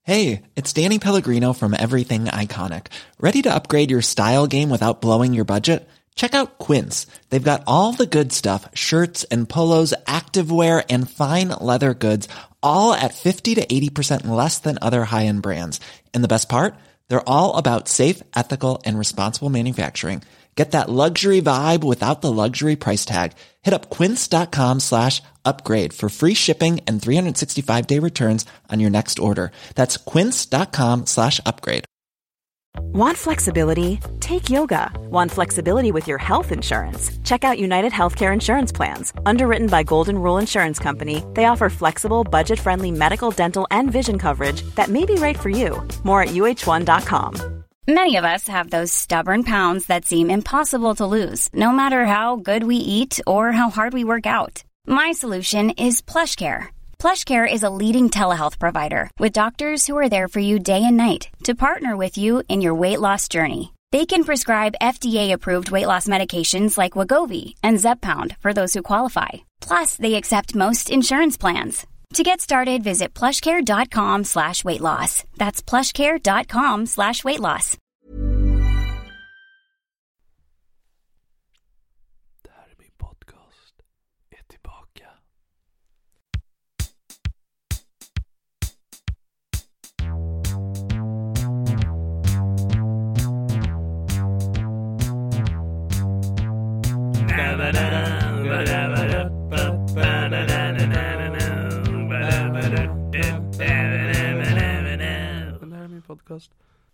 Hey, it's Danny Pellegrino from Everything Iconic. Ready to upgrade your style game without blowing your budget? Check out Quince. They've got all the good stuff, shirts and polos, activewear and fine leather goods, all at 50 to 80% less than other high-end brands. And the best part? They're all about safe, ethical, and responsible manufacturing. Get that luxury vibe without the luxury price tag. Hit up quince.com/upgrade for free shipping and 365-day returns on your next order. That's quince.com/upgrade. Want flexibility? Take yoga. Want flexibility with your health insurance? Check out United Healthcare Insurance Plans. Underwritten by Golden Rule Insurance Company, they offer flexible, budget-friendly medical, dental, and vision coverage that may be right for you. More at uh1.com. Many of us have those stubborn pounds that seem impossible to lose, no matter how good we eat or how hard we work out. My solution is PlushCare. PlushCare is a leading telehealth provider with doctors who are there for you day and night to partner with you in your weight loss journey. They can prescribe FDA-approved weight loss medications like Wegovy and Zepbound for those who qualify. Plus, they accept most insurance plans. To get started, visit plushcare.com/weightloss. That's plushcare.com/weightloss. Det här är min podcast. Är tillbaka. Podcast.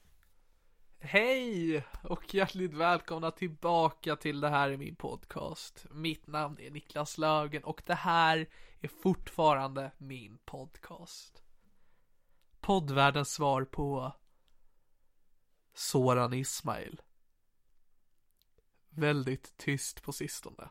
Hej och hjärtligt välkomna tillbaka till Det här är min podcast. Mitt namn är Niklas Lögen och det här är fortfarande min podcast. Poddvärldens svar på Soran Ismail. Väldigt tyst på sistone.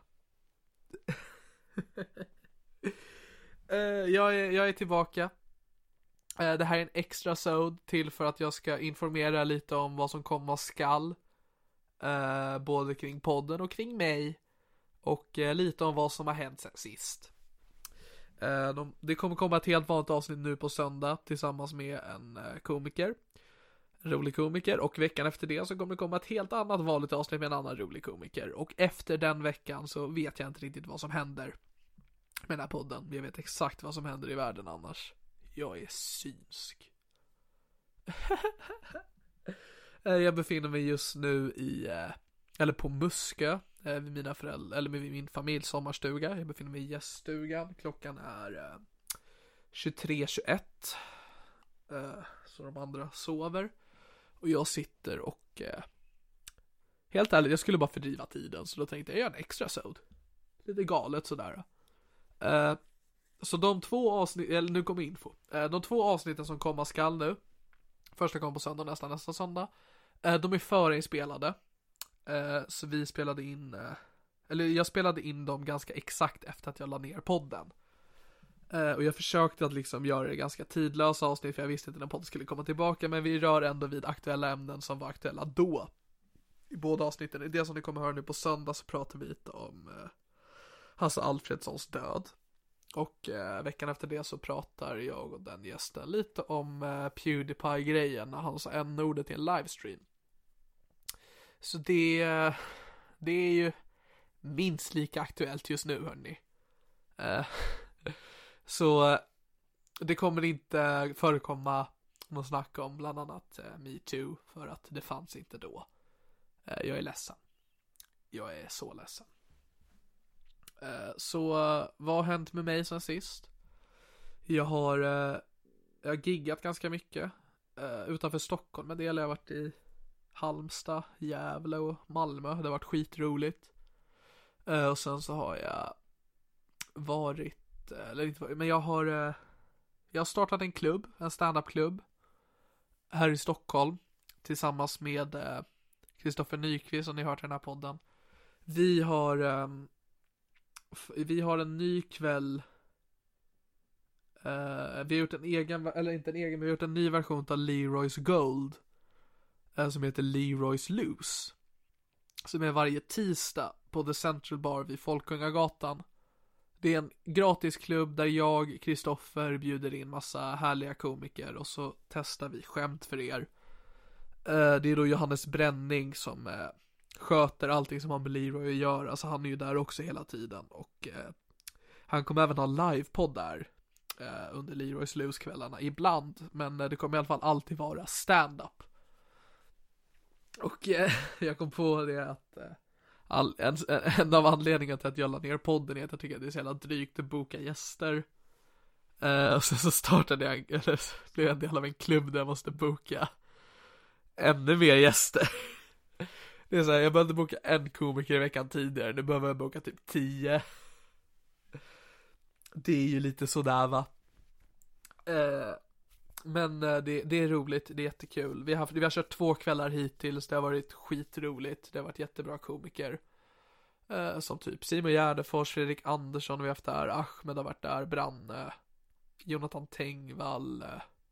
Jag är tillbaka. Det här är en extra sod till för att jag ska informera lite om vad som komma skall. Både kring podden och kring mig. Och lite om vad som har hänt sen sist. Det kommer komma ett helt vanligt avsnitt nu på söndag tillsammans med en komiker. En rolig komiker. Och veckan efter det så kommer det komma ett helt annat vanligt avsnitt med en annan rolig komiker. Och efter den veckan så vet jag inte riktigt vad som händer med den här podden. Jag vet exakt vad som händer i världen annars. Jag är synsk. Jag befinner mig just nu på Muskö vid mina föräldrar, eller med min familjs sommarstuga. Jag befinner mig i gäststugan. Klockan är 23:21. Så de andra sover. Och jag sitter och helt ärligt, jag skulle bara fördriva tiden. Så då tänkte jag gör en extra sod. Lite galet sådär. Så de två avsnitt, eller nu kommer info. De två avsnitten som komma skall nu. Första kommer på söndag, nästa söndag. De är förinspelade. Så vi spelade in, eller jag spelade in dem ganska exakt efter att jag la ner podden. Och jag försökte att liksom göra det ganska tidlösa avsnitt, för jag visste inte när podden skulle komma tillbaka. Men vi rör ändå vid aktuella ämnen som var aktuella då. I båda avsnitten. I det som ni kommer höra nu på söndag så pratar vi lite om Hasse Alfredsons död. Och veckan efter det så pratar jag och den gästen lite om PewDiePie-grejen när han sa n-ordet i en livestream. Så det är ju minst lika aktuellt just nu, hörni. Så det kommer inte förekomma någon snack om bland annat Me Too, för att det fanns inte då. Jag är ledsen. Jag är så ledsen. Så vad har hänt med mig sen sist? Jag har giggat ganska mycket utanför Stockholm. Men det har jag varit i Halmstad, Gävle och Malmö. Det har varit skitroligt. Och sen så har jag varit, eller inte varit, men jag har startat en klubb, en stand-up-klubb här i Stockholm tillsammans med Kristoffer Nyqvist, som ni hört i den här podden. Vi har en ny kväll. Vi har gjort en egen, eller inte en egen, men vi har gjort en ny version av Leroy's Gold som heter Leroy's Loose, som är varje tisdag på The Central Bar vid Folkungagatan. Det är en gratis klubb där jag, Kristoffer, bjuder in massa härliga komiker och så testar vi skämt för er. Det är då Johannes Bränning som sköter allting som har med Leroy att göra. Alltså han är ju där också hela tiden. Och han kommer även ha livepodd där under Leroys Loose-kvällarna ibland. Men det kommer i alla fall alltid vara stand-up. Och jag kom på det att en av anledningarna till att jag la ner podden är att jag tycker att det är så jävla drygt att boka gäster. Och sen så startade jag, eller blev jag en del av en klubb där jag måste boka ännu mer gäster. Det är så här, jag behövde boka en komiker i veckan tidigare. Nu behöver jag boka typ 10. Det är ju lite sådär va. Men det är roligt, det är jättekul. Vi har kört 2 kvällar hittills. Det har varit skitroligt. Det har varit jättebra komiker. Som typ Simon Gärdefors, Fredrik Andersson vi har haft där. Ahmed har varit där, Branne, Jonathan Tengvall,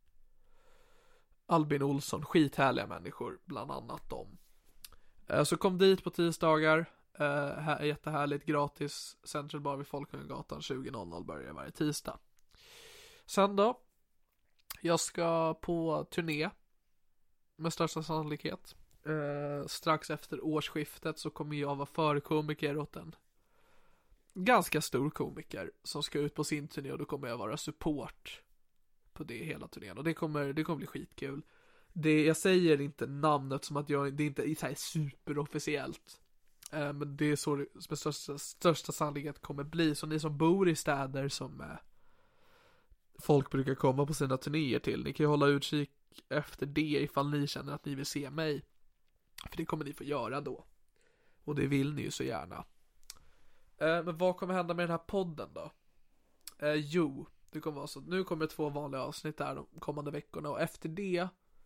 Albin Olsson. Skithärliga människor, bland annat dem. Så kom dit på tisdagar. Jättehärligt, gratis. Central Bar vid Folkungagatan 20.00 börjar varje tisdag. Sen då, jag ska på turné med största sannolikhet. Strax efter årsskiftet så kommer jag vara förkomiker åt en ganska stor komiker som ska ut på sin turné, och då kommer jag vara support på det hela turnén, och det kommer bli skitkul. Jag säger inte namnet som att det är inte så här superofficiellt, men det är så det med största sannolikhet kommer bli. Så ni som bor i städer som folk brukar komma på sina turnéer till, ni kan ju hålla utkik efter det ifall ni känner att ni vill se mig, för det kommer ni få göra då, och det vill ni ju så gärna. Men vad kommer hända med den här podden då? Jo, det kommer vara så, nu kommer 2 vanliga avsnitt där de kommande veckorna, och efter det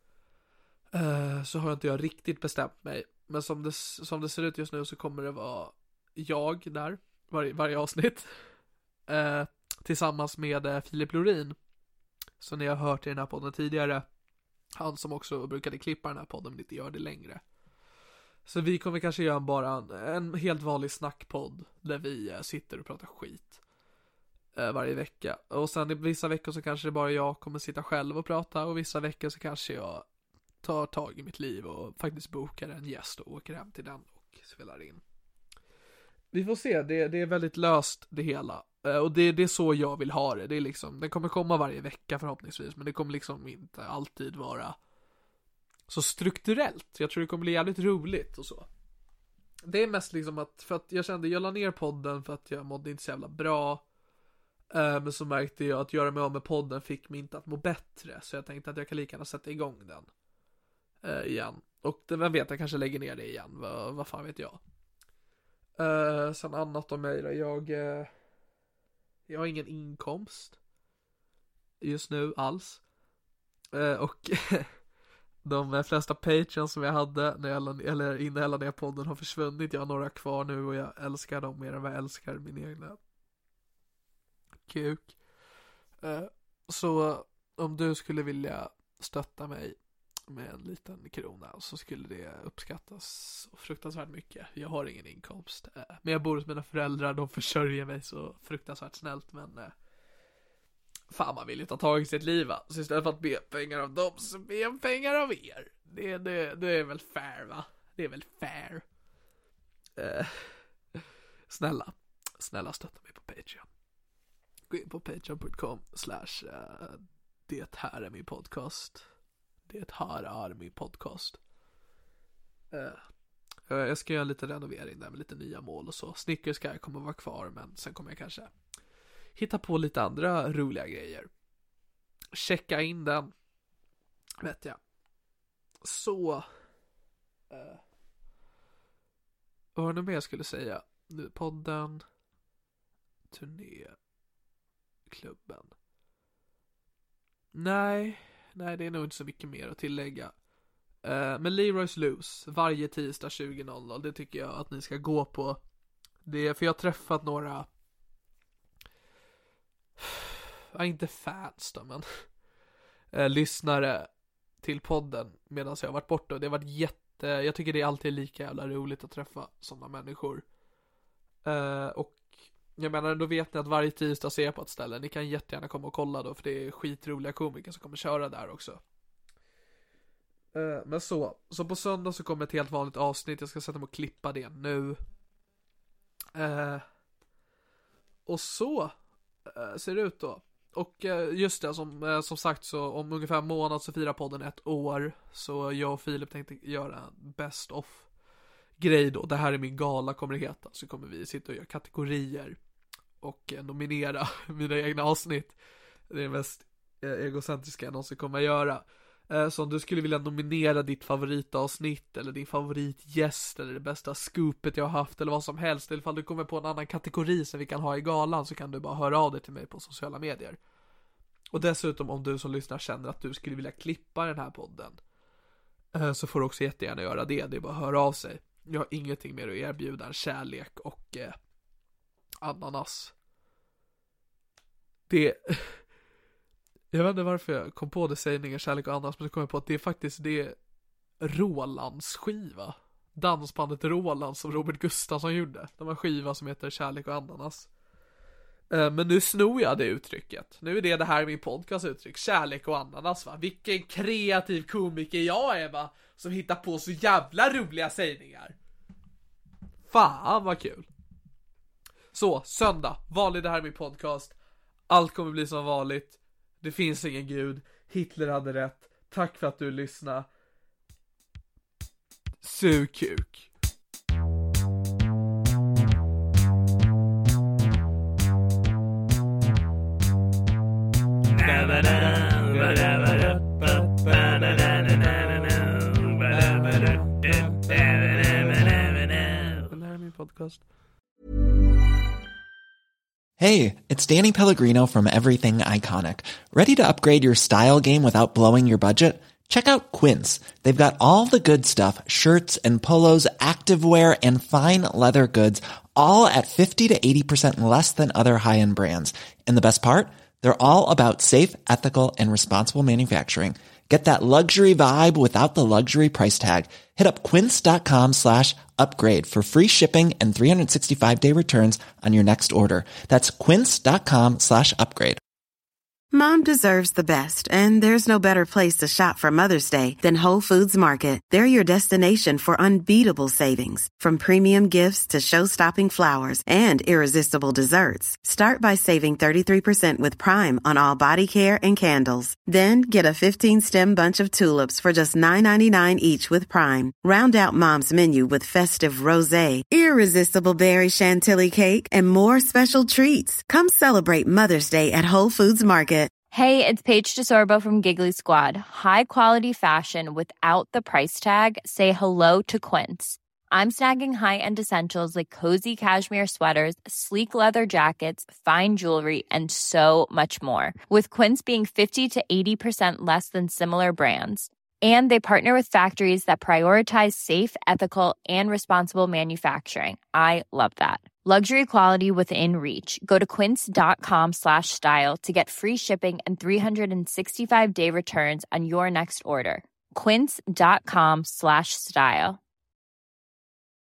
så har inte jag riktigt bestämt mig, men som det ser ut just nu så kommer det vara jag där varje avsnitt tillsammans med Filip Lorin, så ni har hört i den här podden tidigare, han som också brukade klippa den här podden men inte gör det längre. Så vi kommer kanske göra bara en helt vanlig snackpodd där vi sitter och pratar skit varje vecka. Och sen i vissa veckor så kanske det bara jag kommer sitta själv och prata, och vissa veckor så kanske jag tar tag i mitt liv och faktiskt bokar en gäst och åker hem till den och spelar in. Vi får se, det är väldigt löst det hela. Och det är så jag vill ha det. Det är liksom, den kommer komma varje vecka förhoppningsvis, men det kommer liksom inte alltid vara så strukturellt. Jag tror det kommer bli jävligt roligt och så. Det är mest liksom för att jag kände, jag la ner podden för att jag mådde inte så jävla bra. Men så märkte jag att göra mig av med podden fick mig inte att må bättre. Så jag tänkte att jag kan lika gärna sätta igång den igen. Och vem vet, jag kanske lägger ner det igen. Vad fan vet jag. Sen annat om mig då. Jag har ingen inkomst just nu alls. Och de flesta Patreons som jag hade innan jag la ner podden har försvunnit. Jag har några kvar nu och jag älskar dem mer än vad jag älskar min egna kuk. Så om du skulle vilja stötta mig med en liten krona så skulle det uppskattas fruktansvärt mycket. Jag har ingen inkomst, men jag bor hos mina föräldrar, de försörjer mig så fruktansvärt snällt, men fan, man vill ju ta tag i sitt liv, va? Så istället för att be pengar av dem så be pengar av er. Det är väl fair, va? Det är väl fair. Snälla stötta mig på Patreon. Gå in på patreon.com/det här är min podcast. Det här är min podcast. Jag ska göra lite renovering där med lite nya mål och så. Snickers ska jag kommer vara kvar, men sen kommer jag kanske hitta på lite andra roliga grejer. Checka in den, vet jag. Så vad var det mer jag skulle säga? Podden, turné, klubben. Nej, det är nog inte så mycket mer att tillägga. Men Leroy's Loose varje tisdag 20.00, det tycker jag att ni ska gå på. Det är för jag har träffat några, inte fans då, men lyssnare till podden medan jag har varit borta. Det har varit jag tycker det är alltid lika jävla roligt att träffa sådana människor. Och jag menar, då vet ni att varje tisdag ser på ett ställe. Ni kan jättegärna komma och kolla då, för det är skitroliga komiker som kommer köra där också. Men så på söndag så kommer ett helt vanligt avsnitt. Jag ska sätta mig och klippa det nu. Och så ser det ut då. Och just det, som sagt, så om ungefär en månad så firar podden 1 år. Så jag och Filip tänkte göra en best of grej då. Det här är min gala, kommer det heta. Så kommer vi sitta och göra kategorier och nominera mina egna avsnitt. Det är det mest egocentriska jag någonsin kommer att göra. Så om du skulle vilja nominera ditt favoritavsnitt eller din favoritgäst eller det bästa scoopet jag har haft eller vad som helst, eller ifall du kommer på en annan kategori som vi kan ha i galan, så kan du bara höra av dig till mig på sociala medier. Och dessutom, om du som lyssnar känner att du skulle vilja klippa den här podden, så får du också jättegärna göra det. Det är bara att höra av sig. Jag har ingenting mer att erbjuda än kärlek och ananas. Jag vet inte varför jag kom på det, sägningen kärlek och ananas, men så kom jag på att det är faktiskt det Rolands skiva. Dansbandet Roland som Robert Gustafsson gjorde. De har skiva som heter Kärlek och ananas. Men nu snor jag det uttrycket. Nu är det här min podcast uttryck. Kärlek och ananas, va? Vilken kreativ komiker jag är, va? Som hittar på så jävla roliga sägningar. Fan vad kul. Så, söndag. Vanligt, det här är min podcast. Allt kommer bli som vanligt. Det finns ingen gud. Hitler hade rätt. Tack för att du lyssnade. Sug kuk. Hey, it's Danny Pellegrino from Everything Iconic. Ready to upgrade your style game without blowing your budget? Check out Quince. They've got all the good stuff, shirts and polos, activewear, and fine leather goods, all at 50 to 80% less than other high-end brands. And the best part? They're all about safe, ethical, and responsible manufacturing. Get that luxury vibe without the luxury price tag. Hit up quince.com/upgrade for free shipping and 365-day returns on your next order. That's quince.com/upgrade. Mom deserves the best, and there's no better place to shop for Mother's Day than Whole Foods Market. They're your destination for unbeatable savings, from premium gifts to show-stopping flowers and irresistible desserts. Start by saving 33% with Prime on all body care and candles. Then get a 15-stem bunch of tulips for just $9.99 each with Prime. Round out Mom's menu with festive rosé, irresistible berry chantilly cake, and more special treats. Come celebrate Mother's Day at Whole Foods Market. Hey, it's Paige DeSorbo from Giggly Squad. High quality fashion without the price tag. Say hello to Quince. I'm snagging high-end essentials like cozy cashmere sweaters, sleek leather jackets, fine jewelry, and so much more. With Quince being 50 to 80% less than similar brands. And they partner with factories that prioritize safe, ethical, and responsible manufacturing. I love that. Luxury quality within reach. Go to quince.com/style to get free shipping and 365-day returns on your next order. Quince.com/style.